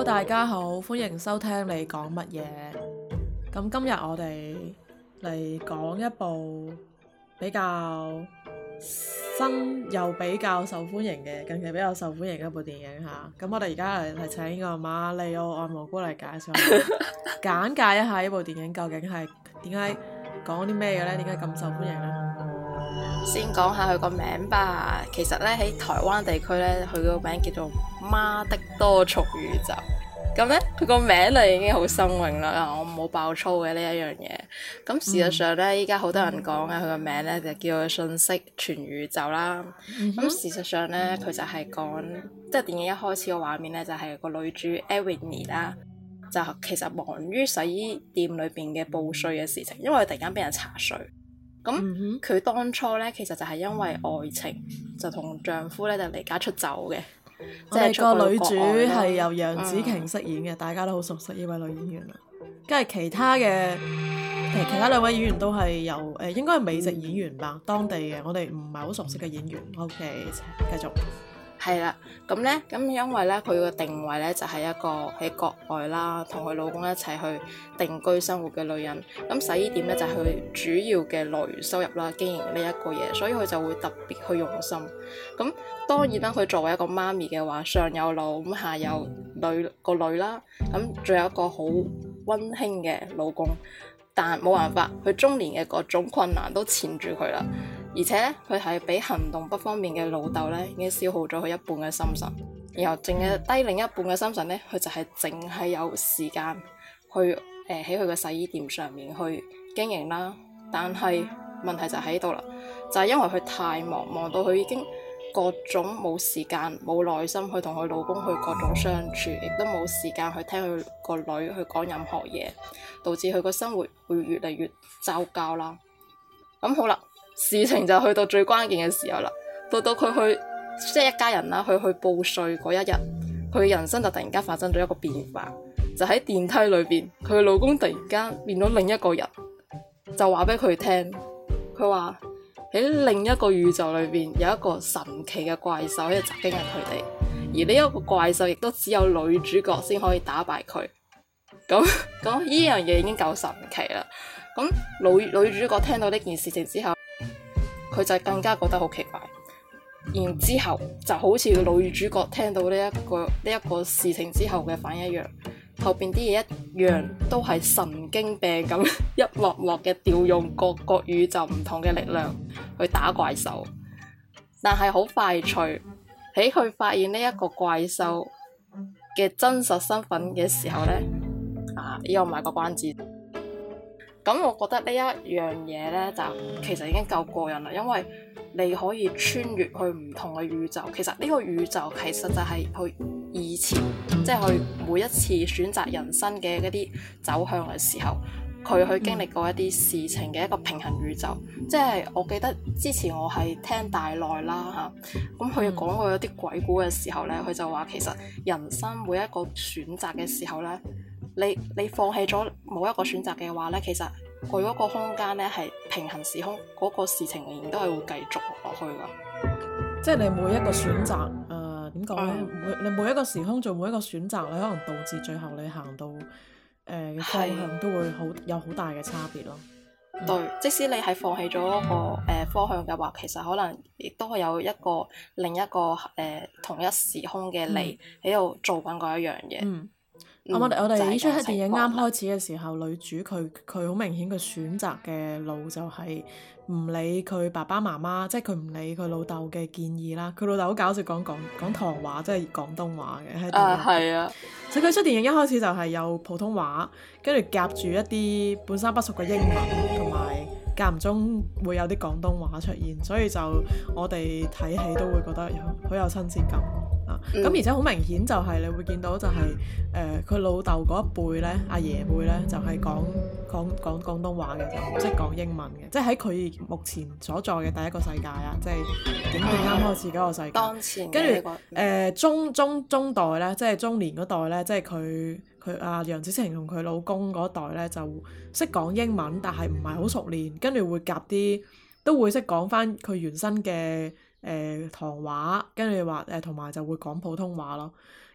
大家好，歡迎收聽你講乜嘢。咁今日我哋嚟講一部比較新又比較受歡迎嘅，近期比較受歡迎嘅一部電影嚇。咁我哋而家嚟請呢個馬里奧愛蘑菇嚟介紹下，簡介一下呢部電影究竟係點解講啲咩嘅呢？點解咁受歡迎呢？ 先講下佢個名吧。其實咧喺台灣地區咧，佢個名叫做《媽的多重宇宙》。咁咧佢個名咧已經好新穎啦。我冇爆粗嘅呢一樣嘢。咁事實上咧，依家好多人講嘅佢個名咧就叫做信息全宇宙啦。咁事實上咧，佢就係講即係電影一開始個畫面咧，就係個女主 Evelyn 啦，就其實忙於洗衣店裏邊嘅報稅嘅事情，因為佢突然間俾人查稅。咁佢當初咧，其實就係因為愛情，就同丈夫咧就離家出走嘅。 即係個女主係由楊紫瓊飾演嘅，大家都好熟悉呢位女演員啦。跟住其他兩位演員都係由應該係美籍演員吧，當地嘅我哋唔係好熟悉嘅演員。OK， 繼續。 係啦，咁因為咧佢個定位咧就係一個喺國外啦，同佢老公一齊去定居生活嘅女人。咁洗衣店咧就係佢主要嘅來源收入啦，經營呢一個嘢，所以佢就會特別去用心。咁當然啦，佢作為一個媽咪嘅話，上有老咁下有個女啦，咁仲有一個好溫馨嘅老公，但冇辦法，佢中年嘅各種困難都纏住佢啦。而且咧，佢係俾行動不方便嘅老豆咧，已經消耗咗佢一半嘅心神，然後淨係低另一半嘅心神咧，佢就係淨係有時間去喺佢嘅洗衣店上面去經營啦。但係問題就喺度啦，就係因為佢太忙，忙到佢已經各種冇時間、冇耐心去同佢老公去各種相處，亦都冇時間去聽佢個女去講任何嘢，導致佢個生活會越嚟越糟糕啦。咁好啦。事情就去到最關鍵嘅時候啦，到佢去即係一家人啦，去報稅嗰一日，佢人生就突然間發生咗一個變化，就喺電梯裏邊，佢老公突然間變咗另一個人，就話俾佢聽，佢話喺另一個宇宙裏邊有一個神奇嘅怪獸喺度襲擊緊佢哋，而呢一個怪獸亦都只有女主角先可以打敗佢。咁呢樣嘢已經夠神奇啦。咁女主角聽到呢件事情之後，佢就更加覺得好奇怪，然之後就好似女主角聽到呢一個事情之後嘅反應一樣，後邊啲嘢一樣都係神經病咁，一幕幕嘅調用各個宇宙唔同嘅力量去打怪獸。但係好快脆，喺佢發現呢一個怪獸嘅真實身份嘅時候呢，呢個賣個關子。咁我覺得呢一樣嘢呢，就其實已經夠過癮啦，因為你可以穿越去唔同嘅宇宙。其實呢個宇宙其實就係佢以前，即係佢每一次選擇人生嘅嗰啲走向嘅時候，佢去經歷過一啲事情嘅一個平衡宇宙。即係我記得之前我係聽大內啦嚇，咁佢講過有啲鬼故嘅時候呢，佢就話其實人生每一個選擇嘅時候呢，你放棄咗某一個選擇嘅話呢，其實佢嗰個空間呢係平行時空，嗰個事情仍然都係會繼續落去㗎。 即係你每一個選擇，點講呢？你每一個時空做每一個選擇，你可能導致最後你行到嘅方向都會有好大嘅差別咯。 對，即使你係放棄咗嗰個方向嘅話，其實可能亦都係有另一個同一時空嘅你喺度做緊嗰一樣嘢。 我哋呢出電影啱開始嘅時候，女主佢好明顯佢選擇嘅路就係唔理佢爸爸媽媽，即係佢唔理佢老豆嘅建議啦。佢老豆好搞笑，講唐話，即係廣東話嘅喺電影。 係啊。 所以佢出電影一開始就係有普通話，跟住夾住一啲半生不熟嘅英文，同埋間唔中會有啲廣東話出現，所以就我哋睇戲都會覺得好有親切感。咁而且好明顯就係你會見到就係佢老豆嗰一輩咧，阿爺輩咧就係講廣東話嘅，就唔識講英文嘅，即係喺佢目前所在嘅第一個世界啊，即係影片啱開始嗰個世界。 當前跟住中代咧，即係中年嗰代咧，即係佢阿楊紫瓊同佢老公嗰代咧就識講英文，但係唔係好熟練，跟住會夾啲都會識講翻佢原生嘅唐話，跟住話同埋就會講普通話咯。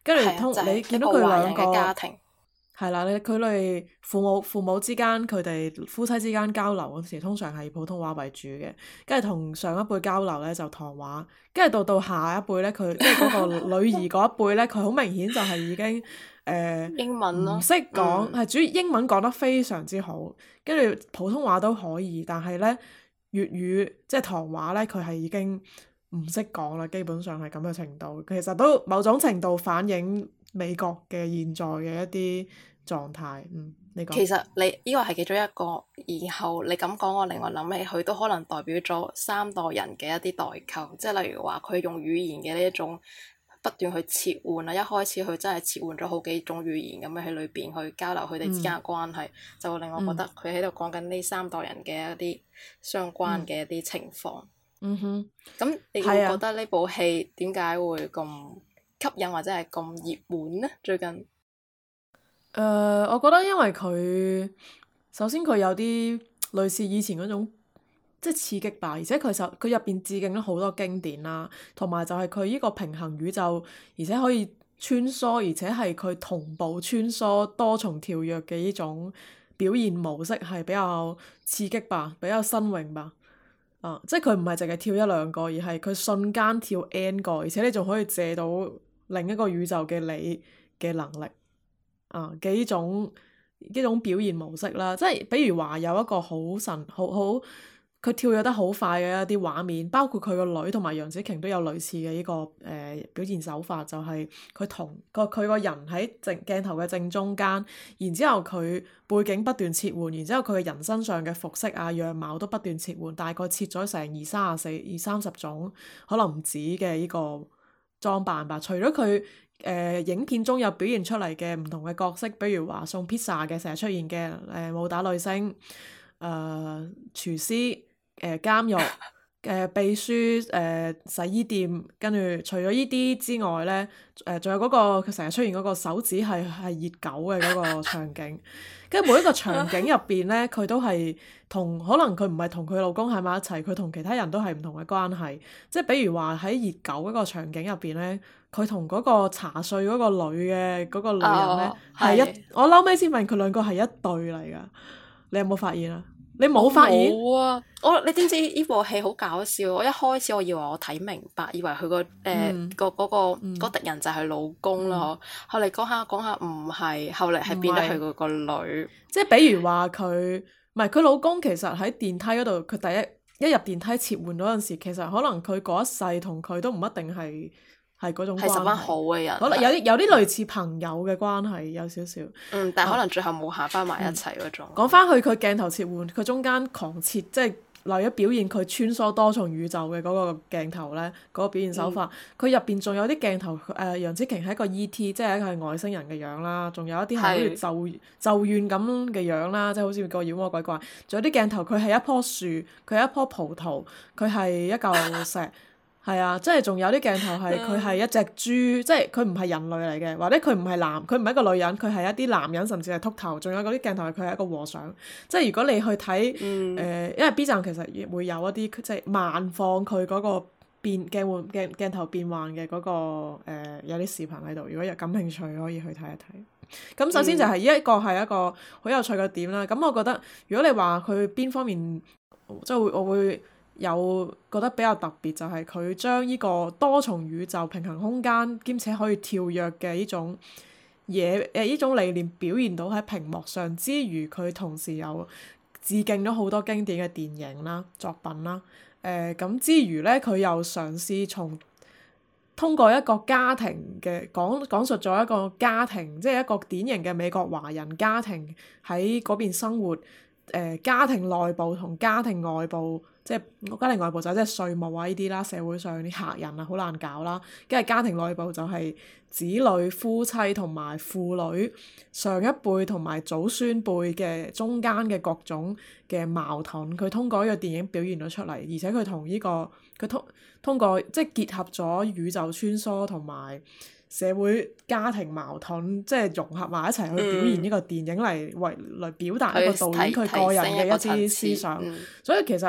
跟住就係你見到一個華佢兩人嘅家個。 庭。 係啦，佢哋父母之間佢哋夫妻之間交流嗰時，通常係普通話為主嘅，跟住同上一輩交流咧就唐話，跟住到下一輩咧，佢即係嗰個女兒嗰一輩咧，佢好明顯就係已經英文咯， 唔識講， 嗯， 係主要英文講得非常之好，跟住普通話都可以，但係咧粵語即係唐話咧，佢係已經唔識講啦，基本上係咁嘅程度。其實都某種程度反映美國嘅現在嘅一啲狀態。你講。 其實你呢個係其中一個，然後你咁講，我另外諗起佢都可能代表咗三代人嘅一啲代溝，即係例如話佢用語言嘅呢一種不斷去切換啦，一開始佢真係切換咗好幾種語言咁樣喺裏邊去交流佢哋之間嘅關係，就會令我覺得佢喺度講緊呢三代人嘅一啲相關嘅一啲情況。 嗯哼。 咁你會覺得呢部戲點解會咁吸引或者係咁熱門呢？最近？ 我覺得因為佢首先佢有啲類似以前嗰種即係刺激吧，而且佢入邊致敬咗好多經典啦，同埋就係佢呢個平衡宇宙，而且可以穿梭，而且係佢同步穿梭多重跳躍嘅呢種表現模式係比較刺激吧，比較新穎吧。即係佢唔係淨係跳一兩個，而係佢瞬間跳 N 個，而且你仲可以借到另一個宇宙嘅你嘅能力。嘅呢種表現模式啦，即係比如話有一個好神好佢跳躍得好快嘅一啲畫面，包括佢個女同埋楊紫瓊都有類似嘅呢個表現手法，就係佢個人喺鏡頭嘅正中間，然之後佢背景不斷切換，然之後佢嘅人身上嘅服飾啊樣貌都不斷切換，大概切咗成二三十種，可能唔止嘅呢個裝扮吧。除咗佢影片中有表現出嚟嘅唔同嘅角色，比如話送 pizza 嘅成日出現嘅武打女星、廚師、監獄、秘書、洗衣店，跟住除咗呢啲之外咧，仲有嗰個佢成日出現嗰個手指係熱狗嘅嗰個場景，跟住每一個場景入邊咧，佢都係可能佢唔係同佢老公喺埋一齊，佢同其他人都係唔同嘅關係，即係比如話喺熱狗嗰個場景入邊咧。佢同嗰個茶碎嗰個女嘅嗰個女人咧我嬲尾先問佢兩個係一對嚟噶，你有冇發現啊？你冇發現？ 冇啊！你知唔知呢部戲好搞笑？我一開始我以為我睇明白，以為佢個敵人就係老公咯。後嚟講下講下唔係，後嚟係變得佢個女。 即係比如話佢唔係佢老公，其實喺電梯嗰度，佢第一入電梯切換嗰陣時，其實可能佢嗰一世同佢都唔一定係嗰種關係， 係十分好嘅人， 可能有啲類似朋友嘅關係，有少少。 但係可能最後冇行翻埋一齊嗰種。 講翻去佢鏡頭切換，佢中間狂切，即係為咗表現佢穿梭多重宇宙嘅嗰個鏡頭咧，嗰個表現手法。佢入邊仲有啲鏡頭，楊紫瓊係一個 E.T.，即係一個係外星人嘅樣啦，仲有一啲係好似咒怨咁嘅樣啦，即係好似個妖魔鬼怪。仲有啲鏡頭，佢係一棵樹，佢係一棵葡萄，佢係一嚿石。係啊，即係仲有啲鏡頭係佢係一隻豬，即係佢唔係人類嚟嘅，或者佢唔係一個女人，佢係一啲男人，甚至係禿頭。仲有嗰啲鏡頭係佢係一個和尚。即係如果你去睇因為 B 站其實會有一啲即係慢放佢嗰個鏡頭變換嘅嗰個有啲視頻喺度，如果有感興趣可以去睇一睇。咁首先就係呢一個係一個好有趣嘅點啦。咁我覺得如果你話佢邊方面即係我會有覺得比較特別，就係佢將呢個多重宇宙、平衡空間兼且可以跳躍嘅呢種嘢呢種理念表現到喺屏幕上之餘，佢同時又致敬咗好多經典嘅電影啦、作品啦。咁之餘咧，佢又嘗試通過一個家庭嘅講述咗一個家庭，即係一個典型嘅美國華人家庭喺嗰邊生活。家庭內部同家庭外部，即係家庭外部就即係稅務啊呢啲啦，社會上啲客人啊好難搞啦，跟住家庭內部就係子女、夫妻同埋父女上一輩同埋祖孫輩嘅中間嘅各種嘅矛盾，佢通過呢個電影表現咗出嚟，而且佢同呢個佢通過即係結合咗宇宙穿梭同埋社會家庭矛盾，即係融合埋一齊去表現呢個電影嚟表達一個導演佢個人嘅一啲思想。所以其實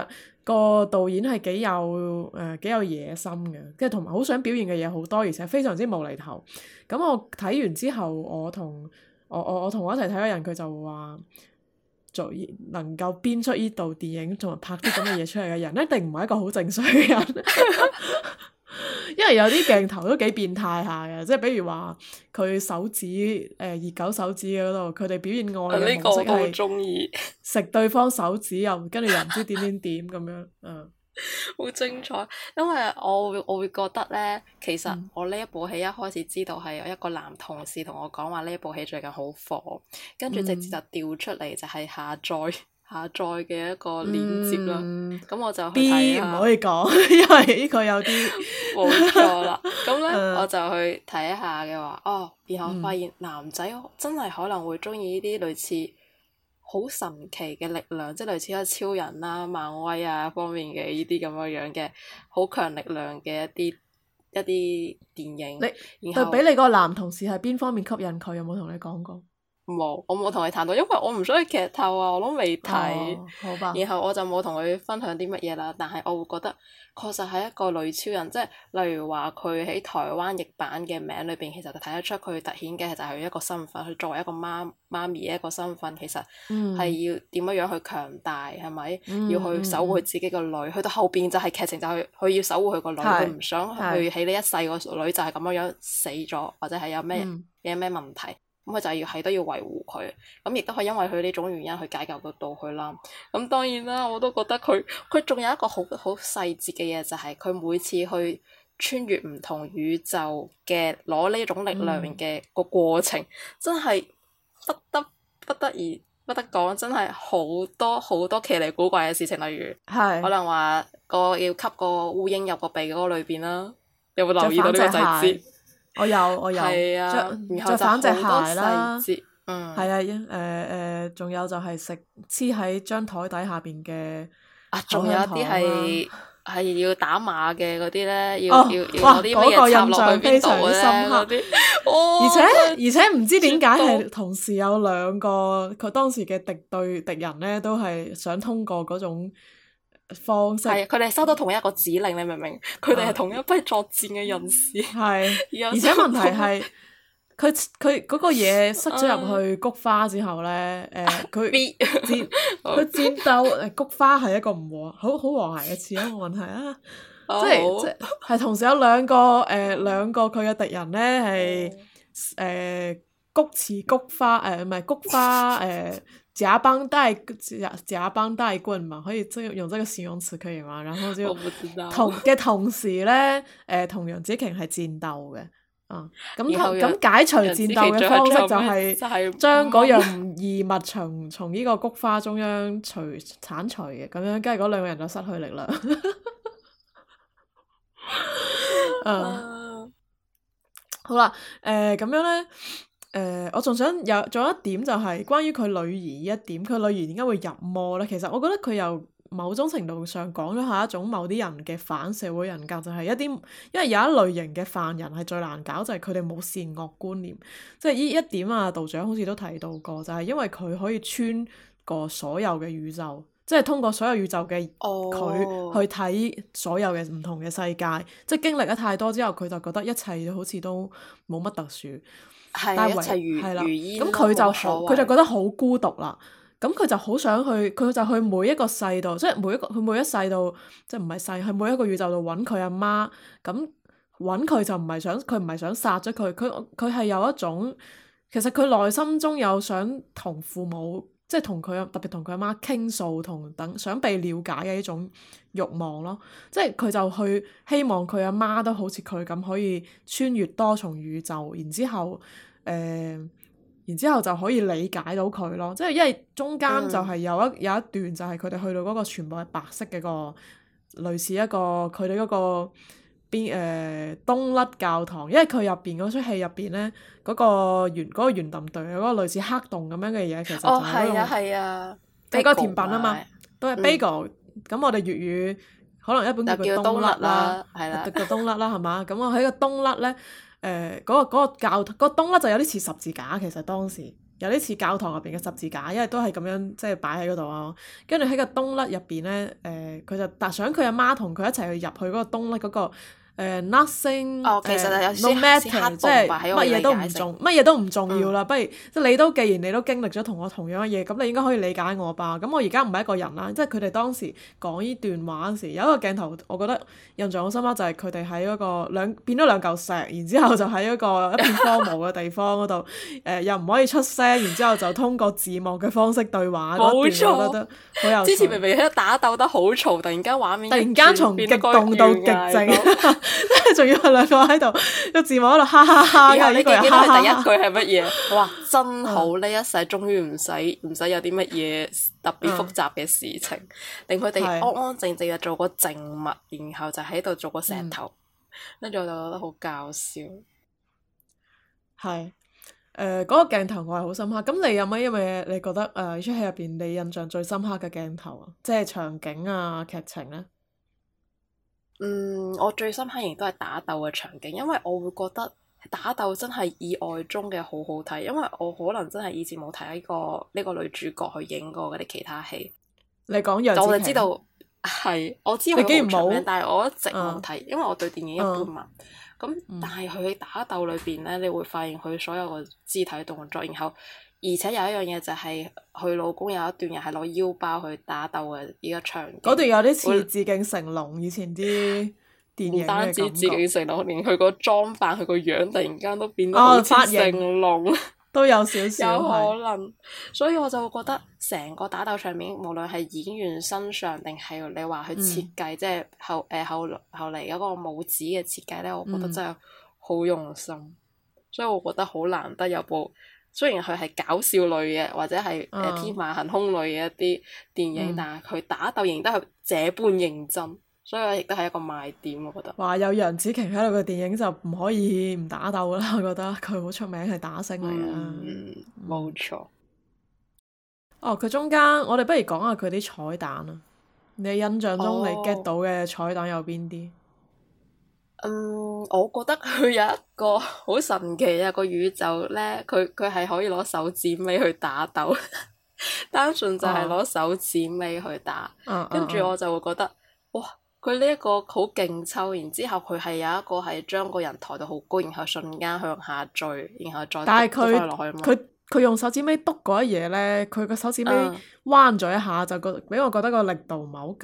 個導演係幾有野心嘅，跟住同埋好想表現嘅嘢好多，而且非常之無厘頭。咁我睇完之後，我同我一齊睇嘅人，佢就話能夠編出呢部電影同埋拍啲咁嘅嘢出嚟嘅人，一定唔係一個好正常嘅人。因為有啲鏡頭都幾變態下嘅，即係比如話佢手指熱狗手指嘅嗰度，佢哋表現愛嘅模式係食對方手指，跟住又唔知點點點咁樣， 好精彩。因為我會覺得呢，其實我呢一部戲一開始知道係有一個男同事同我講話呢一部戲最近好火，跟住直接就調出嚟就係下載嘅一個鏈接啦，咁我就去睇下。 唔可以講，因為呢個有啲冇錯啦。咁呢，我就去睇下嘅話，然後發現男仔真係可能會中意呢啲類似好神奇嘅力量，即係類似一超人啦、漫威啊方面嘅呢啲咁樣嘅好強力量嘅一啲電影。 對比你個男同事係邊方面吸引佢？有冇同你講過？ 冇，我冇同佢談到，因為我唔想去劇透啊，我都未睇。 好吧。 然後我就冇同佢分享啲乜嘢啦，但係我會覺得確實係一個女超人，即係例如話佢喺台灣譯版嘅名裏邊，其實就睇得出佢突顯嘅就係佢一個身份，佢作為一個媽咪嘅一個身份，其實係要點樣去強大，係咪？要去守護佢自己個女，去到後邊就係劇情就係佢要守護佢個女，佢唔想去喺呢一世個女就係咁樣死咗，或者係有咩問題。咁佢就都要維護佢，咁亦都係因為佢呢種原因去解救到佢啦。咁當然啦，我都覺得佢仲有一個好細節嘅嘢，就係佢每次去穿越唔同宇宙嘅攞呢種力量嘅個過程，真係不得講，真係好多奇離古怪嘅事情，例如可能話要吸個烏蠅入個鼻嗰個裏邊啦，有冇留意到呢個細節？ 我有，着反隻鞋啦，係啊，仲有就係黐喺張台底下邊嘅， 仲有啲係要打碼嘅嗰啲呢，要攞啲咩嘢插落去邊度咧嗰啲， 而且唔知點解係同時有兩個佢當時嘅敵人呢，都係想通過嗰種方式， 係佢哋收到同一個指令，你明唔明？佢哋係同一批作戰嘅人士。 係，而且問題係佢嗰個嘢塞咗入去菊花之後呢，佢戰鬥菊花係一個好和諧嘅詞啊，冇問題啊。即係同時有兩個佢嘅敵人呢，係菊池菊花唔係菊花夾幫帶棍嘛，可以用這個形容詞可以嗎？然後就同時呢，同楊紫瓊係戰鬥嘅，咁解除戰鬥嘅方式就係將嗰樣異物從呢個菊花中央剷除嘅，咁樣跟住嗰兩個人就失去力量。好啦，咁樣呢。我仲有一點就係關於佢女兒一點，佢女兒點解會入魔呢？其實我覺得佢由某種程度上講咗係一種某啲人嘅反社會人格，就係因為有一類型嘅犯人係最難搞，就係佢哋冇善惡觀念，即係呢一點啊，道長好似都提到過，就係因為佢可以穿過所有嘅宇宙，即係通過所有宇宙嘅佢去睇所有嘅唔同嘅世界，即係經歷咗太多之後，佢就覺得一切好似都冇乜特殊。但係一切如煙，咁佢就覺得好孤獨啦。咁佢就好想去，佢就去每一個世度，即係佢每一世度，即係唔係世，去每一個宇宙度揾佢阿媽。咁揾佢就佢唔係想殺咗佢，佢係有一種，其實佢內心中有想同父母，即係特別同佢阿媽傾訴，想被了解嘅呢種慾望咯。即係佢就去希望佢阿媽都好似佢咁可以穿越多重宇宙，然之後就可以理解到佢咯。即係因為中間就係有一段就係佢哋去到嗰個全部係白色嘅個類似一個佢哋嗰個東甩教堂，因為佢入邊嗰出戲入邊咧嗰個圓揼隊嗰個類似黑洞咁樣嘅嘢，其實就係嗰個係嗰個甜品啊嘛，都係 bagel。咁我哋粵語可能一般叫佢東甩啦，係啦，叫東甩啦，係嘛？咁我喺個東甩咧，嗰個教嗰個東甩就有啲似十字架，其實當時有啲似教堂入邊嘅十字架，因為都係咁樣即係擺喺嗰度啊。跟住喺個冬甩入邊咧，佢就想佢阿媽同佢一齊去入去嗰個冬甩嗰個。nothing 哦，其實係有 no 啲 matter，即係乜嘢都唔重， 乜嘢都唔重要啦。不如即係既然你都經歷咗同我同樣嘅嘢，咁你應該可以理解我吧。咁我而家唔係一個人啦，即係佢哋當時講呢段話嗰時，有一個鏡頭，我覺得印象好深刻，就係佢哋喺嗰個變咗兩嚿石，然之後就喺一片荒蕪嘅地方嗰度，又唔可以出聲，然之後就通過字幕嘅方式對話。 冇錯， 我覺得好有趣。 之前明明喺度打鬥得好嘈，突然間畫面突然間從極動到極靜。即係仲要係兩個喺度個字幕喺度哈哈哈， 然後呢個人第一句哈哈係乜嘢？哇！真好，呢一世終於唔使有啲乜嘢特別複雜嘅事情，令佢哋安安靜靜就做個靜物，然後就喺度做個石頭，跟住我就覺得好搞笑。 係嗰個鏡頭我係好深刻。咁你有乜嘢你覺得呢出戲入邊你印象最深刻嘅鏡頭啊？即係場景啊、劇情咧？ 我最深刻仍然都係打鬥嘅場景，因為我會覺得打鬥真係意外中嘅好好睇，因為我可能真係以前冇睇過呢個女主角去影過嗰啲其他戲。 你講楊紫瓊， 我就知道係，我知佢好出名，但係我一直冇睇，因為我對電影一般嘛。咁但係佢喺打鬥裏邊咧，你會發現佢所有嘅肢體動作，然後而且有一樣嘢就係佢老公有一段又係攞腰包去打鬥嘅呢個場景。嗰段有啲似致敬成龍以前啲電影嘅感覺。唔單止致敬成龍，連佢個裝扮、佢個樣突然間都變得好似成龍。 都有少少有可能，所以我就會覺得成個打鬥場面，無論係演員身上定係你話去設計，即係後嚟嗰個武指嘅設計咧，我覺得真係好用心。所以我覺得好難得有部，雖然佢係搞笑類嘅或者係天馬行空類嘅一啲電影，但係佢打鬥仍然都係這般認真。所以亦都係一個賣點，我覺得。 話有楊紫瓊喺度嘅電影就唔可以唔打鬥啦，我覺得佢好出名係打星嚟㗎。 冇錯。 哦，佢中間我哋不如講下佢啲彩蛋啊！你印象中你 get 到嘅彩蛋有邊啲？ 我覺得佢有一個好神奇嘅一個宇宙咧，佢係可以攞手指尾去打鬥，單純就係攞手指尾去打，跟住我就會覺得，哇！佢呢一個好勁抽，然之後佢係有一個係將個人抬到好高，然後瞬間向下墜，然後再但篤翻落去嘛。 佢用手指尾篤嗰一嘢咧，佢個手指尾彎咗一下，就俾我覺得個力度唔係好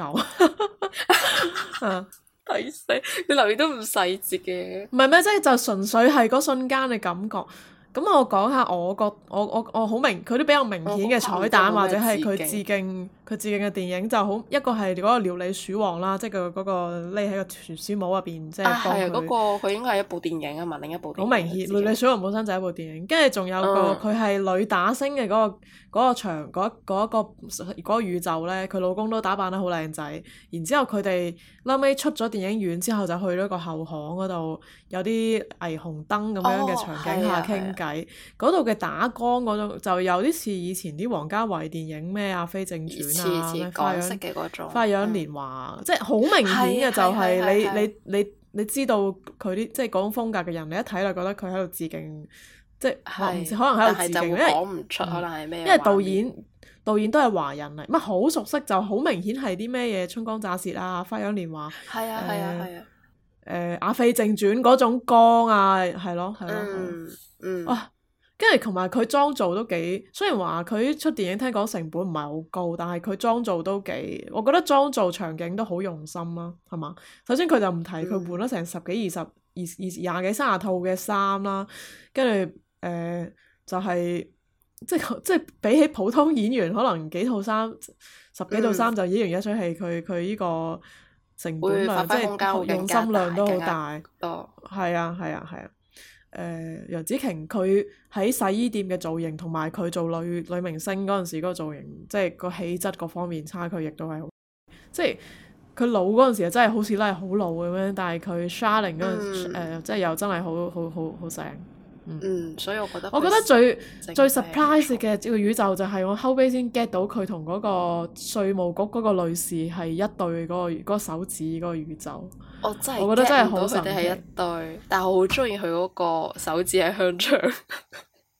夠。 睇死！你留意都唔細節嘅。 唔係咩？即係就純粹係嗰瞬間嘅感覺。咁我講下我好明佢啲比較明顯嘅彩蛋，或者係佢致敬嘅電影，就好一個係嗰個料理鼠王啦，即係佢嗰個匿喺個傳書帽入邊，即係幫佢。 嗰個佢應該係一部電影啊嘛，另一部電影。 好明顯，料理鼠王本身就係一部電影，跟住仲有個佢係女打星嘅嗰個場嗰個宇宙咧，佢老公都打扮得好靚仔，然之後佢哋後尾出咗電影院之後，就去咗個後巷嗰度，有啲霓虹燈咁樣嘅場景下傾偈，嗰度嘅打光嗰種就有啲似以前啲王家衛電影咩《阿飛正傳》啊，咩花樣年華，即係好明顯嘅就係你知道佢啲即係嗰種風格嘅人，你一睇就覺得佢喺度致敬，即係唔知可能喺度致敬，因為講唔出可能係咩。 因為導演都係華人嚟，乜好熟悉就好明顯係啲咩嘢春光乍泄啊，花樣年華。 係啊！ 阿飛正傳嗰種光啊，係咯。哇！跟住同埋佢妝造都幾，雖然話佢出電影聽講成本唔係好高，但係佢妝造都幾，我覺得妝造場景都好用心啦，係嘛？首先佢就唔提佢換咗成十幾、廿幾、30套嘅衫啦，跟住就係即係比起普通演員可能幾套衫、十幾套衫就演完一出戲，佢呢個成本量即係用心量都好大。係啊！楊紫瓊佢喺洗衣店嘅造型，同埋佢做女明星嗰陣時嗰個造型，即係個氣質各方面差距亦都係好，即係佢老嗰陣時真係好似拉係好老咁樣，但係佢 Shining 嗰陣即係又真係好正。 所以我覺得最 surprise 嘅個宇宙就係我後尾先 get 到佢同嗰個稅務局嗰個女士係一對嗰個手指嗰個宇宙。 我覺得真係好神奇。 佢哋係一對，但係我好中意佢嗰個手指係香腸。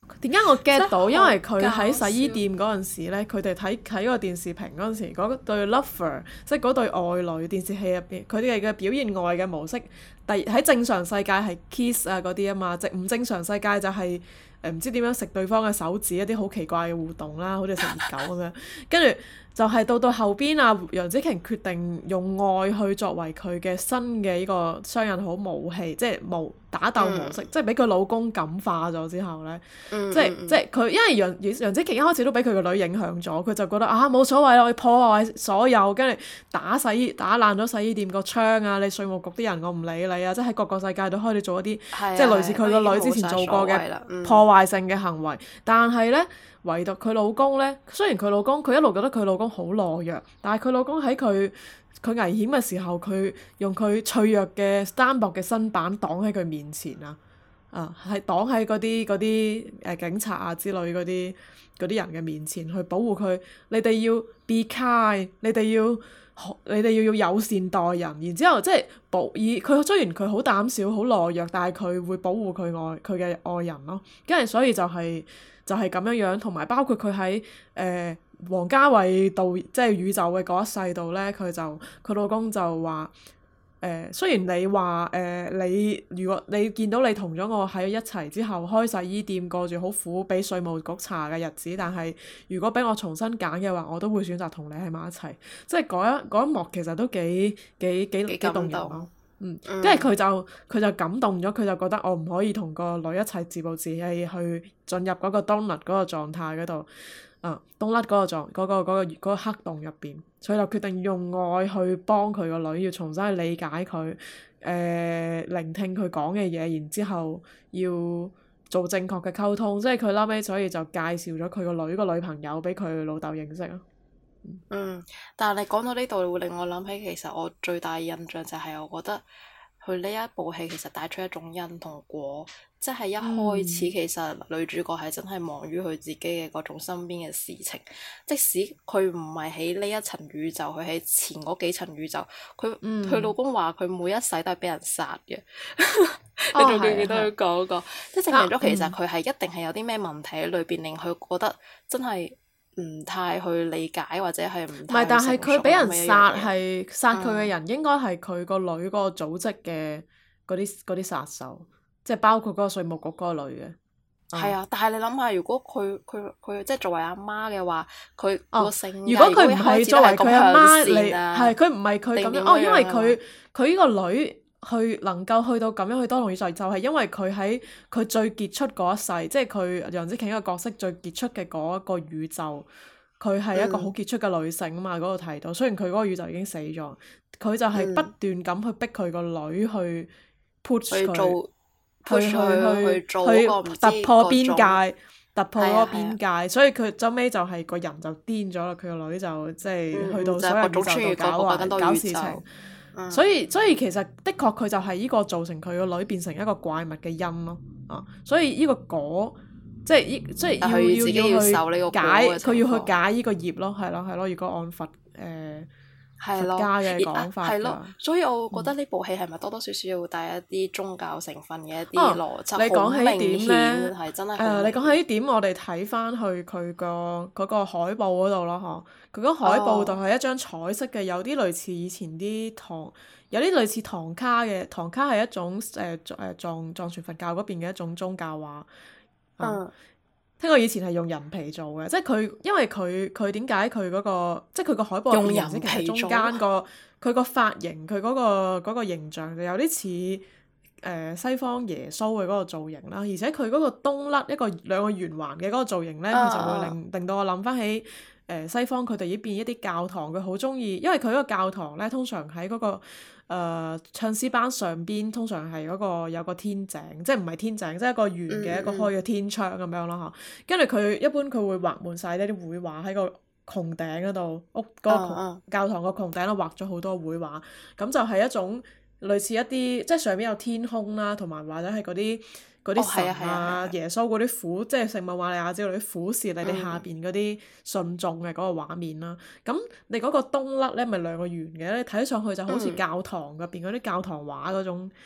點解我 get 到？因為佢搞喺洗衣笑店嗰陣時咧，佢哋睇個電視屏嗰陣時，嗰對 lover 即係嗰對愛侶電視戲入邊，佢哋嘅表現愛嘅模式，喺正常世界係 kiss 啊嗰啲啊嘛，唔正常世界就係唔知點樣食對方嘅手指，一啲好奇怪嘅互動啦，好似食熱狗咁樣，跟住。就係到後邊啊，楊紫瓊決定用愛去作為佢嘅新嘅呢個雙引號武器，即係打鬥模式，即係俾佢老公感化咗之後咧，即係佢，因為楊紫瓊一開始都俾佢個女影響咗，佢就覺得啊冇所謂啦，我要破壞所有，跟住打爛咗洗衣店個窗啊，你稅務局啲人我唔理你啊，即係喺各個世界都開始做一啲即係類似佢個女之前做過嘅破壞性嘅行為，但係咧。唯獨佢老公咧，雖然佢老公佢一路覺得佢老公好懦弱，但係佢老公喺佢危險嘅時候，佢用佢脆弱嘅單薄嘅身板擋喺佢面前啊，係擋喺嗰啲警察啊之類嗰啲人嘅面前去保護佢。你哋要 be kind，你哋要友善待人，然之後即係佢雖然佢好膽小好懦弱，但係佢會保護佢嘅愛人咯。跟住所以就係咁樣樣，同埋包括佢喺王家衛即係宇宙嘅嗰一世度咧，佢老公就話雖然你話如果你見到你同咗我喺一齊之後開洗衣店過住好苦俾稅務局查嘅日子，但係如果俾我重新揀嘅話，我都會選擇同你喺埋一齊。即係嗰一幕其實都幾動人咯。跟住佢就感動咗，佢就覺得我唔可以同個女一齊自暴自棄去進入嗰個冬甩嗰個狀態嗰度，冬甩嗰個黑洞入邊，所以就決定用愛去幫佢個女，要重新去理解佢，聆聽佢講嘅嘢，然之後要做正確嘅溝通，即係佢後尾所以就介紹咗佢個女朋友俾佢老豆認識咯。 但係你講到呢度會令我諗起，其實我最大印象就係我覺得佢呢一部戲其實帶出一種因同果，即係一開始其實女主角係真係忙於佢自己嘅嗰種身邊嘅事情，即使佢唔係喺呢一層宇宙，佢喺前嗰幾層宇宙，佢老公話佢每一世都係俾人殺嘅，你仲記唔記得佢講過？即係證明咗其實佢係一定係有啲咩問題喺裏邊，令佢覺得真係唔太去理解或者係唔太。唔係， 但係佢俾人殺係殺佢嘅人，應該係佢個女嗰個組織嘅嗰啲殺手，即係包括嗰個稅務局嗰個女嘅。 係啊，但係你諗下，如果佢即係作為阿媽嘅話，佢個性格， 如果佢唔係作為佢阿媽，係佢唔係佢咁樣。因為佢呢個女。能夠去到咁樣去多重宇宙，就係因為佢喺佢最傑出嗰一世，即係佢楊紫瓊一個角色最傑出嘅嗰一個宇宙，佢係一個好傑出嘅女性啊嘛。嗰度提到，雖然佢嗰個宇宙已經死咗，佢就係不斷咁去逼佢個女去 push 佢去突破邊界，突破嗰個邊界，所以佢後尾就係個人就癲咗啦。佢個女就即係去到所有宇宙度搞事情。所以其實的確佢就係呢個造成佢個女變成一個怪物嘅因咯，所以呢個果即係要去解，佢要去解呢個業咯，係咯，如果按佛家嘅講法嘅話， 所以我覺得呢部戲係咪多多少少要帶一啲宗教成分嘅一啲邏輯？ 你講起點咧， 係真係你講起呢點，我哋睇翻去佢個嗰個海報嗰度咯，佢嗰海報度係一張彩色嘅，有啲類似以前啲有啲類似唐卡嘅，唐卡係一種藏傳佛教嗰邊嘅一種宗教畫。聽講以前係用人皮做嘅，即係因為佢點解佢嗰個即係佢個海報入邊，其實中間佢個髮型，佢嗰個形象就有啲似西方耶穌嘅嗰個造型啦，而且佢嗰個冬甩兩個圓環嘅嗰個造型咧，佢就會令到我諗翻起西方佢哋呢邊一啲教堂，佢好中意，因為佢嗰個教堂咧通常喺嗰個唱詩班上邊，通常係嗰個有個天井，即係唔係天井，即係一個圓嘅一個開嘅天窗咁樣咯，跟住佢一般佢會畫滿晒呢啲繪畫喺個穹頂嗰度，教堂個穹頂度畫咗好多繪畫，咁就係一種類似一啲即係上邊有天空啦，同埋或者係嗰啲神耶穌嗰啲苦，即係聖母瑪利亞之類啲苦視你哋下邊嗰啲信眾嘅嗰個畫面啦。咁你嗰個冬甩咧，咪兩個圓嘅，你睇上去就好似教堂入邊嗰啲教堂畫嗰種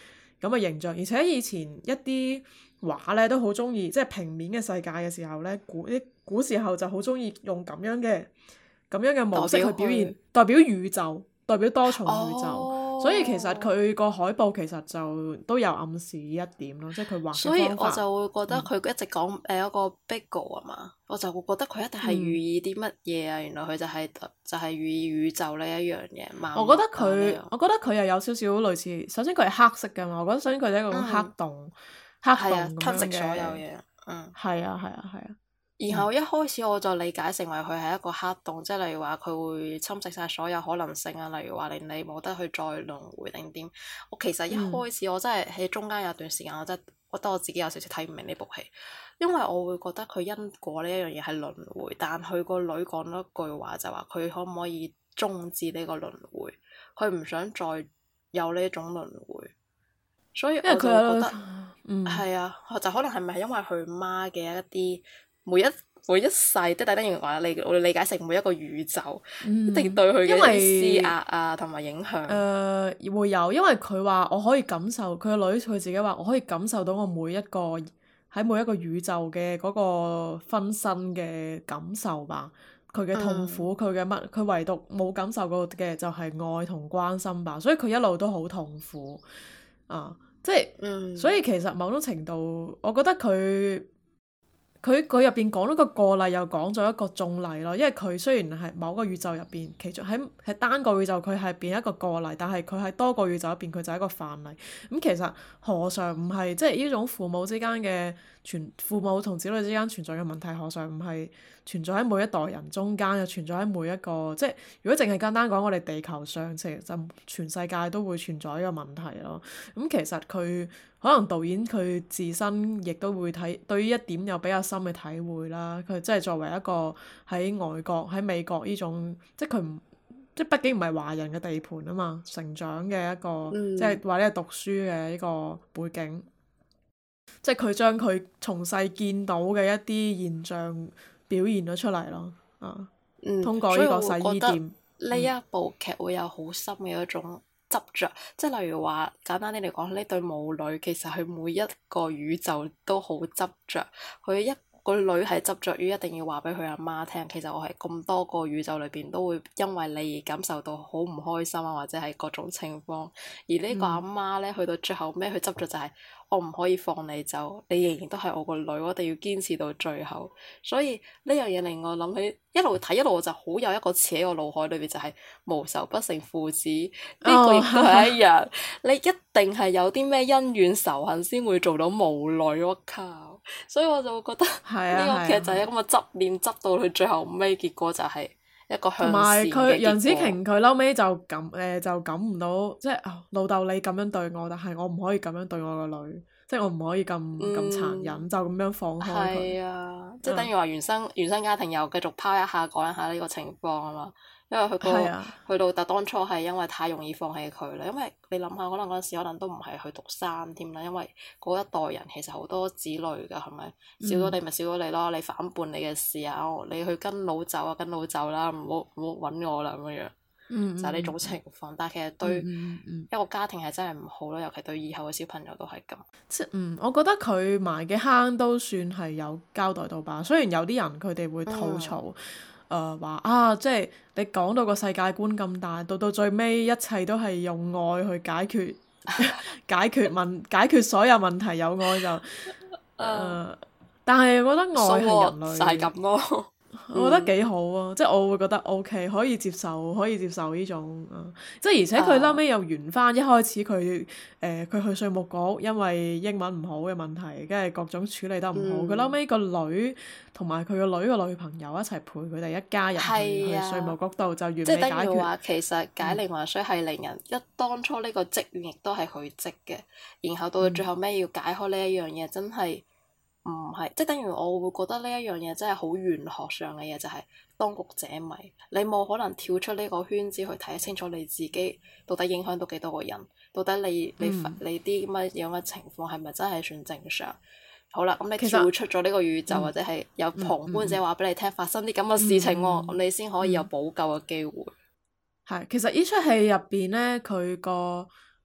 咁嘅形象。而且以前一啲畫咧都好中意，即係平面嘅世界嘅時候咧，古時候就好中意用咁樣嘅模式去表現，代表宇宙，代表多重宇宙。所以其實佢個海報其實就都有暗示呢一點咯，即係佢畫嘅方法。 所以我就會覺得佢一直講一個 Bigo 啊嘛，我就會覺得佢一定係寓意啲乜嘢啊？原來佢就係寓意宇宙呢一樣嘢。 我覺得佢又有少少類似，首先佢係黑色㗎嘛，我覺得首先佢係一個黑洞，黑洞咁樣嘅。 吸食所有嘢。 係啊。 然後一開始我就理解成為佢係一個黑洞，即係例如話佢會侵蝕晒所有可能性啊，例如話令你冇得去再輪迴定點。我其實一開始我真係喺中間有段時間，我真係覺得我自己有少少睇唔明呢部戲，因為我會覺得佢因果呢一樣嘢係輪迴，但佢個女講咗一句話就話佢可唔可以終止呢個輪迴，佢唔想再有呢一種輪迴，所以我就覺得係啊，就可能係咪因為佢媽嘅一啲每一世，即係等於話我哋理解成每一個宇宙，一定對佢嘅一啲施壓啊同埋影響。 會有，因為佢話我可以感受，佢個女佢自己話我可以感受到我每一個宇宙嘅嗰個分身嘅感受吧。佢嘅痛苦，佢嘅乜，佢唯獨冇感受過嘅就係愛同關心吧。所以佢一路都好痛苦啊，即係，所以其實某種程度，我覺得佢入邊講咗個個例，又講咗一個眾例咯。因為佢雖然係某個宇宙入邊，其中喺單個宇宙佢係變一個個例，但係佢喺多個宇宙入邊佢就係一個範例。咁其實何嘗唔係即係呢種父母同子女之間存在嘅問題，何嘗唔係存在喺每一代人中間，又存在喺每一個，即係如果淨係簡單講我哋地球上，其實就全世界都會存在呢個問題咯。咁其實佢可能導演佢自身亦都會對於一點有比較深嘅體會啦。佢即係作為一個喺外國喺美國呢種，即係佢唔即係畢竟唔係華人嘅地盤啊嘛，成長嘅一個，即係或者係讀書嘅呢個背景。即係佢將佢從細見到嘅一啲現象表現咗出嚟咯，通過呢個洗衣店。 呢一部劇會有好深嘅一種執着，即係例如話簡單啲嚟講，呢對母女其實佢每一個宇宙都好執着，佢一個女係執着於一定要話俾佢阿媽聽，其實我係咁多個宇宙裏邊都會因為你而感受到好唔開心啊，或者係各種情況。而呢個阿媽呢，去到最後尾，佢執着就係我唔可以放你走，你仍然都係我個女，我一定要堅持到最後。所以呢樣嘢令我諗起一路睇一路我就好有一個詞喺我腦海裏邊，就係無仇不成父子。呢個亦都係一樣，你一定係有啲咩恩怨仇恨先會做到母女，我靠！所以我就會覺得呢個劇就係咁嘅執念，執到佢最後尾，結果就係一個向善嘅結果。同埋佢楊紫瓊佢嬲尾就感唔到，即係老豆你咁樣對我，但係我唔可以咁樣對我個女，即係我唔可以咁殘忍，就咁樣放開佢。 係啊，即係等於話原生家庭又繼續拋一下講一下呢個情況啊嘛。因為佢老豆當初係因為太容易放棄佢啦，因為你諗下，可能嗰陣時可能都唔係去讀三添啦，因為嗰一代人其實好多子女㗎，係咪？少咗你咪少咗你咯，你反叛你嘅事啊，你去跟老走啊，跟老走啦，唔好揾我啦咁樣，就係呢種情況。但係其實對一個家庭係真係唔好咯，尤其對以後嘅小朋友都係咁。 我覺得佢埋嘅坑都算係有交代到吧。雖然有啲人佢哋會吐槽。話即係你講到個世界觀咁大，到最尾一切都係用愛去解決解決所有問題，有愛就但係我覺得愛係人類就係咁咯。 我覺得幾好啊，即係我會覺得 OK，可以接受呢種即係而且佢後尾又圓翻一開始佢去稅務局，因為英文唔好嘅問題，跟住各種處理得唔好，佢後尾個女同埋佢個女個女朋友一齊陪佢哋一家人去稅務局度就完美解決。 即係等於話其實解鈴還須繫鈴人，當初呢個職員亦都係佢職嘅，然後到最後尾要解開呢一樣嘢，真係。唔係，即係等於我會覺得呢一樣嘢真係好玄學上嘅嘢，就係當局者迷。你冇可能跳出呢個圈子去睇清楚你自己到底影響到幾多個人，到底你啲乜樣嘅情況係咪真係算正常？好啦，咁你跳出咗呢個宇宙，或者係有旁觀者話俾你聽發生啲咁嘅事情喎，咁你先可以有補救嘅機會。 係，其實呢出戲入邊呢，佢個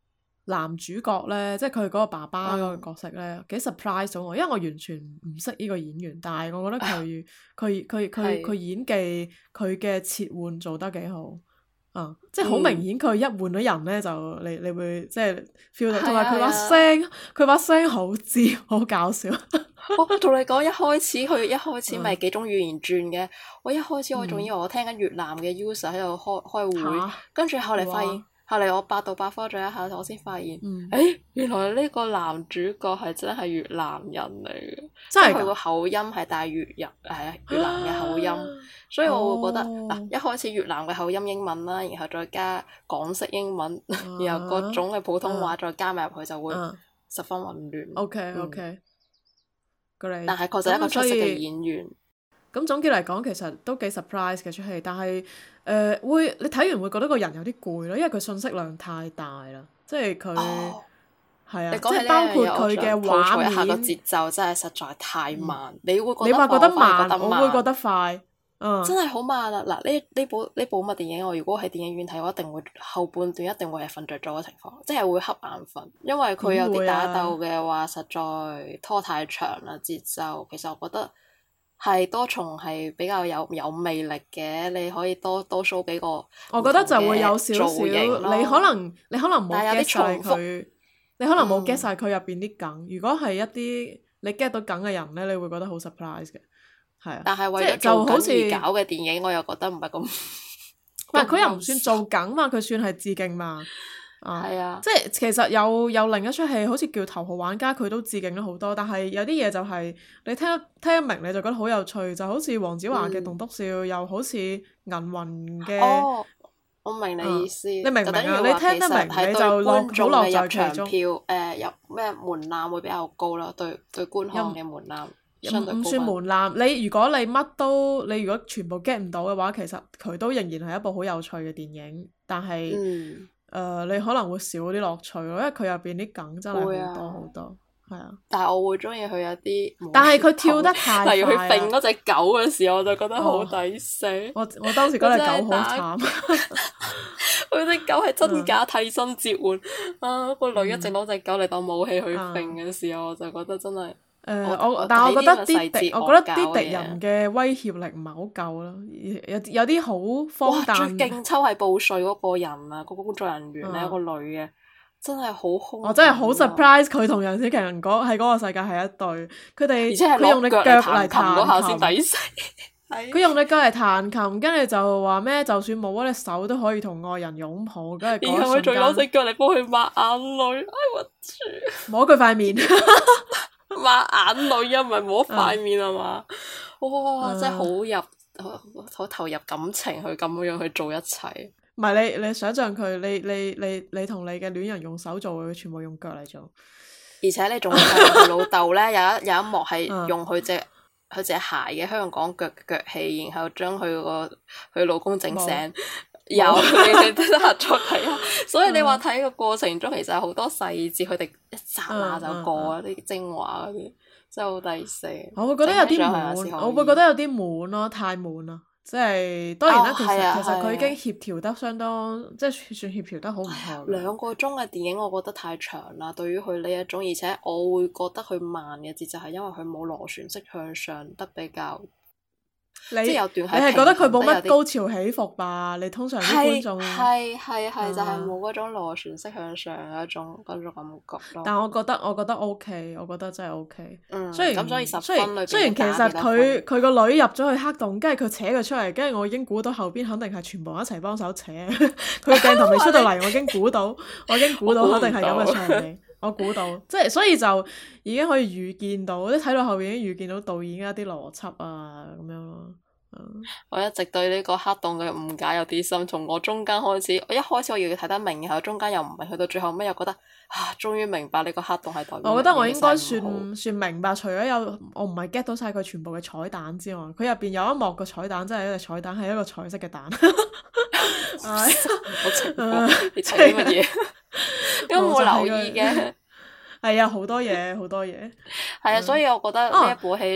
男主角咧，即係佢嗰個爸爸嗰個角色咧，幾 surprise 到我，因為我完全唔識呢個演員，但係我覺得佢演技佢嘅切換做得幾好。即係好明顯，佢一換咗人咧，就你會即係 feel 到，同埋佢把聲好尖，好搞笑。 我同你講，佢一開始咪幾種語言轉嘅。我一開始我仲以為我聽緊越南嘅 user 喺度開會，跟住後嚟發現，後嚟我百度百科咗一下，我先發現，原來呢個男主角係真係越南人嚟嘅，即係佢個口音係帶越南嘅口音，所以我會覺得一開始越南嘅口音英文啦，然後再加港式英文，然後各種嘅普通話再加埋入去，就會十分混亂。 OK， 但係確實係一個出色嘅演員。 咁總結嚟講，其實都幾 surprise 嘅出戲，但係你睇完會覺得個人有啲攰咯，因為佢信息量太大啦，即係佢係啊，即係包括佢嘅畫面， 個節奏真係實在太慢。你會覺得慢，我會覺得快。 真係好慢啊！嗱，呢部乜電影，我如果喺電影院睇，我一定會後半段一定會係瞓着咗嘅情況，即係會瞌眼瞓，因為佢有啲打鬥嘅話，實在拖太長啦節奏。其實我覺得係多重係比較有魅力嘅，你可以多 show 幾個。 我覺得就會有少少，你可能冇 get 晒佢，你可能冇 get 晒佢入邊啲梗。如果係一啲你 get 到梗嘅人咧，你會覺得好 surprise 嘅。 但係為咗做梗而搞嘅電影，我又覺得唔係咁。 唔係佢又唔算做梗嘛，佢算係致敬嘛。 係啊， 即係其實有另一出戲，好似叫《頭號玩家》，佢都致敬咗好多。但係有啲嘢就係你聽得明，你就覺得好有趣。就好似黃子華嘅《棟篤笑》，又好似銀魂嘅。 我明你意思。你明唔明啊？你聽得明，你就落在其中。 入咩門檻會比較高啦？對觀看嘅門檻。 唔算門檻，你如果你如果全部 get 唔到嘅話，其實佢都仍然係一部好有趣嘅電影，但係你可能會少啲樂趣咯，因為佢入邊啲梗真係好多好多，係啊。 但係我會中意佢有啲， 但係佢跳得太快， 例如佢揈嗰隻狗嘅時候，我就覺得好抵死。 我當時覺得隻狗好慘， 佢隻狗係真假替身切換個女一直攞隻狗嚟當武器去揈嘅時候，我就覺得真係。 但係我覺得啲敵人嘅威脅力唔係好夠咯，有啲好荒誕。 最勁抽係報稅嗰個人啊，嗰個工作人員咧，個女嘅真係好兇。 我真係好 surprise 佢同楊紫瓊喺嗰個世界係一對，佢用你腳嚟彈琴先抵死。佢用你腳嚟彈琴，跟住就話咩？就算冇咗隻手都可以同愛人擁抱，跟住然後佢仲攞隻腳嚟幫佢抹眼淚，我住摸佢塊面。 抹眼淚啊，唔係摸塊面啊嘛！哇，真係好投入感情去咁樣去做一切。 唔係你想象佢，你同你嘅戀人用手做，佢全部用腳嚟做。 而且你仲會睇佢老豆咧，有一幕係用佢隻鞋嘅香港腳氣，然後將佢老公整醒。有你得閒再睇下，所以你話睇個過程中其實有好多細節，佢哋一剎那就過啊！啲精華嗰啲真係好抵死。我會覺得有啲悶， 我會覺得有啲悶咯，太悶啦！即係當然啦，其實佢已經協調得相當，即係算協調得好唔錯。 2個鐘嘅電影，我覺得太長啦。對於佢呢一種，而且我會覺得佢慢嘅節奏係因為佢冇螺旋式向上得比較。 你係覺得佢冇乜高潮起伏吧？你通常啲觀眾係就係冇嗰種螺旋式向上嘅一種感覺咯。 但我覺得 OK，我覺得真係 OK。 雖然10分裏邊雖然其實佢個女入咗去黑洞，跟住佢扯佢出嚟，跟住我已經估到後邊肯定係全部一齊幫手扯。佢鏡頭未出到嚟，我已經估到肯定係咁嘅場景。我估到，即係所以就已經可以預見到，即係睇到後邊已經預見到導演一啲邏輯啊咁樣咯。 我一直對呢個黑洞嘅誤解有啲深，從我中間開始，我一開始我要睇得明，然後中間又唔明，去到最後尾又覺得終於明白呢個黑洞係代表。 我覺得我應該算明白，除咗我唔係 get 到晒佢全部嘅彩蛋之外，佢入邊有一幕個彩蛋真係一隻彩蛋，係一個彩色嘅蛋。 好情況，你睇啲乜嘢？因為我冇留意嘅。 係啊，好多嘢。 係啊，所以我覺得呢一部戲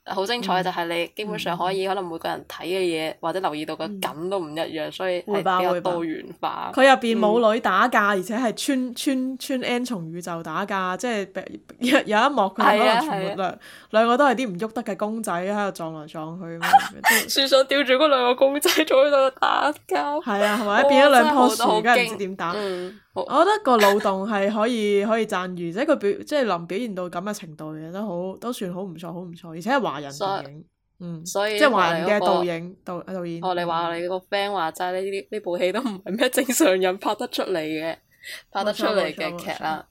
好精彩嘅就係你基本上可以可能每個人睇嘅嘢或者留意到嘅梗都唔一樣，所以係比較多元化。 佢入邊母女打架，而且係穿 N 重宇宙打架，即係有一幕佢哋可能全部兩個都係啲唔喐得嘅公仔喺度撞來撞去， 樹上吊住嗰兩個公仔坐喺度打交。 係啊，係咪變咗兩棵樹，梗係唔知點打。我覺得個腦洞係可以讚譽，即係佢即係能表現到咁嘅程度嘅都算好唔錯，好唔錯，而且係華人電影， 所以即係華人嘅導演。 你話你個 friend 話齋呢部戲都唔係咩正常人拍得出嚟嘅劇啦。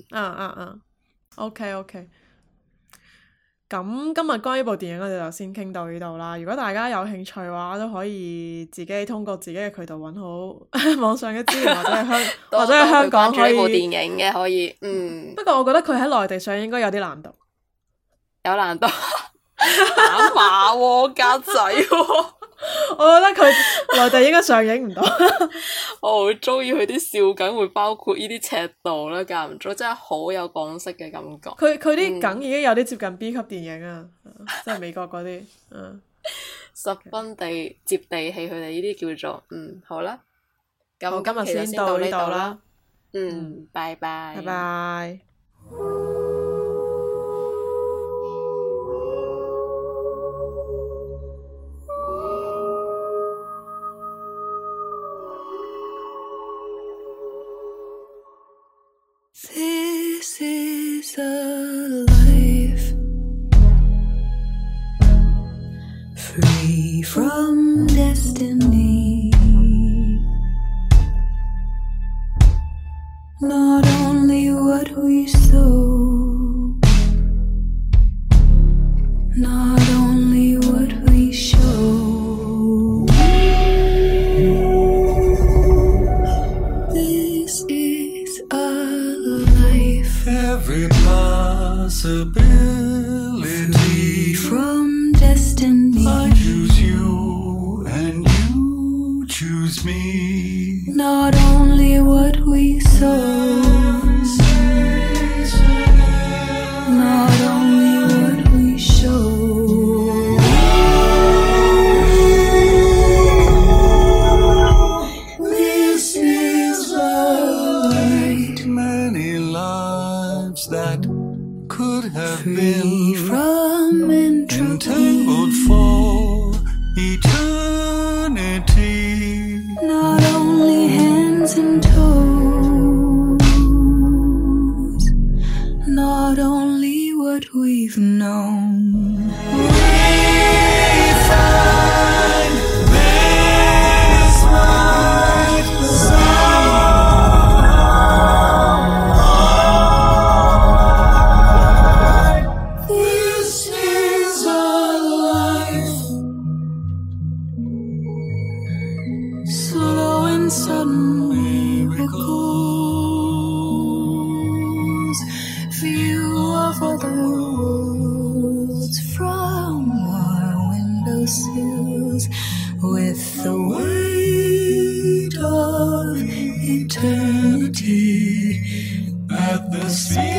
OK。咁今日關於部電影我哋就先傾到呢度啦。如果大家有興趣嘅話，都可以自己通過自己嘅渠道揾好網上嘅資源，或者喺香港可以。 部電影嘅可以， 不過我覺得佢喺內地上映應該有啲難度。 有難度。打碼喎，格仔喎。 我覺得佢內地應該上映唔到。 我好中意佢啲笑梗會包括呢啲尺度啦，間唔中真係好有港式嘅感覺。 佢啲梗已經有啲接近 B 級電影啊，即係美國嗰啲， 十分接地氣，佢哋呢啲叫做好啦。咁今日先到呢度啦。 拜拜。 拜拜。 This is a life free from destiny. Not only what we sow, not only what we show. This is a life every possibility free from destiny. I choose you and you choose me. Not only what we sow, not only what we show. This is right. Many lives that could have Free been from entropy. entangled for eternity. Not only hands and toes, not only what we've known. We find this right side. This is a life Slow and sudden miracles, view of other worlds from our windowsills, with the weight of eternity at the sea.